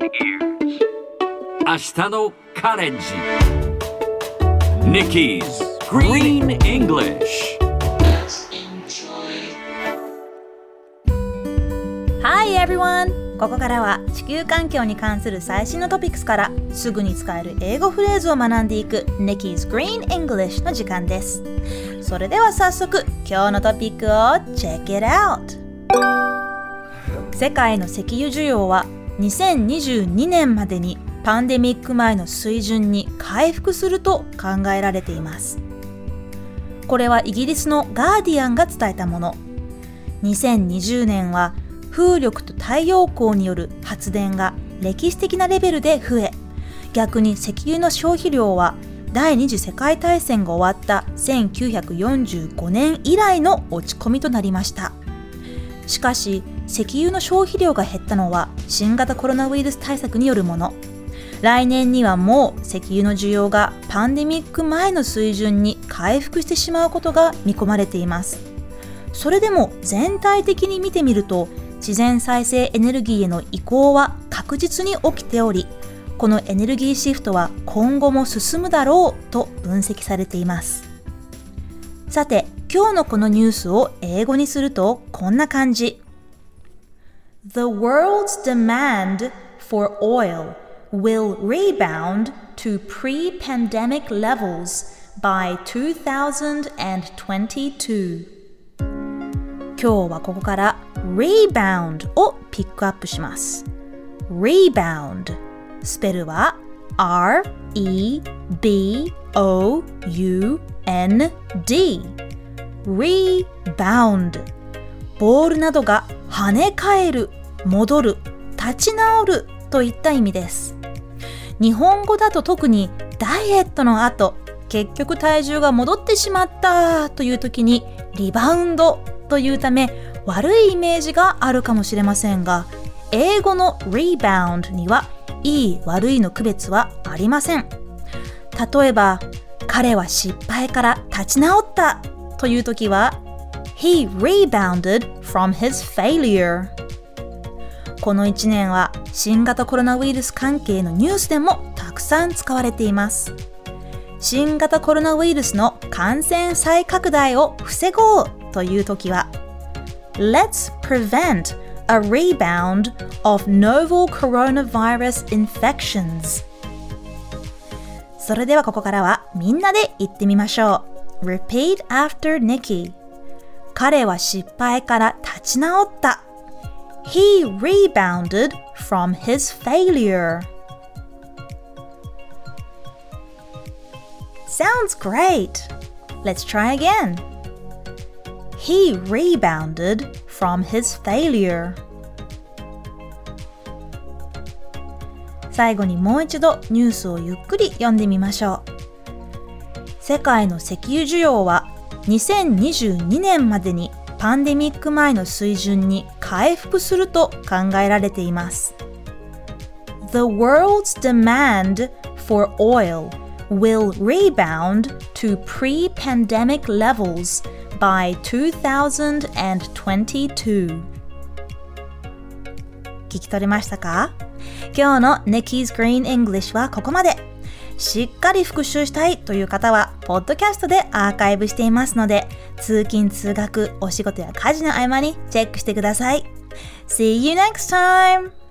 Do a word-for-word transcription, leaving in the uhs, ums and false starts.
明日のカレンジ Nikki's Green English Hi everyone! ここからは地球環境に関する最新のトピックスからすぐに使える英語フレーズを学んでいく Nikki's Green English の時間です。それでは早速今日のトピックを Check it out! 世界の石油需要はにせんにじゅうにねんまでにパンデミック前の水準に回復すると考えられています。これはイギリスのガーディアンが伝えたもの。にせんにじゅうねんは風力と太陽光による発電が歴史的なレベルで増え、逆に石油の消費量は第二次世界大戦が終わったせんきゅうひゃくよんじゅうごねん以来の落ち込みとなりました。しかし、石油の消費量が減ったのは新型コロナウイルス対策によるもの。来年にはもう石油の需要がパンデミック前の水準に回復してしまうことが見込まれています。それでも全体的に見てみると、自然再生エネルギーへの移行は確実に起きており、このエネルギーシフトは今後も進むだろうと分析されています。さて、今日のこのニュースを英語にするとこんな感じ。The world's demand for oil will rebound to pre-pandemic levels by two thousand twenty-two. 今日はここから rebound をピックアップします。rebound スペルは アールイービーオーユーエヌディー rebound ボールなどが跳ね返る、戻る、立ち直るといった意味です。日本語だと特にダイエットの後、結局体重が戻ってしまったという時にリバウンドというため悪いイメージがあるかもしれませんが、英語の rebound にはいい悪いの区別はありません。例えば、彼は失敗から立ち直ったという時は He rebounded from his failure。 このいちねんは新型コロナウイルス関係のニュースでもたくさん使われています。新型コロナウイルスの感染再拡大を防ごうというときは Let's prevent a rebound of novel coronavirus infections。 それではここからはみんなで言ってみましょう。 Repeat after Nikki。 彼は失敗から立ち直った。 He rebounded from his failure。 Sounds great! Let's try again.He rebounded from his failure. 最後にもう一度ニュースをゆっくり読んでみましょう。世界の石油需要はにせんにじゅうにねんまでにパンデミック前の水準に回復すると考えられています。The world's demand for oil will rebound to pre-pandemic levels.by two thousand twenty-two。 聞き取れましたか？今日の Nikki's Green English はここまで。しっかり復習したいという方はポッドキャストでアーカイブしていますので、通勤通学、お仕事や家事の合間にチェックしてください。See you next time!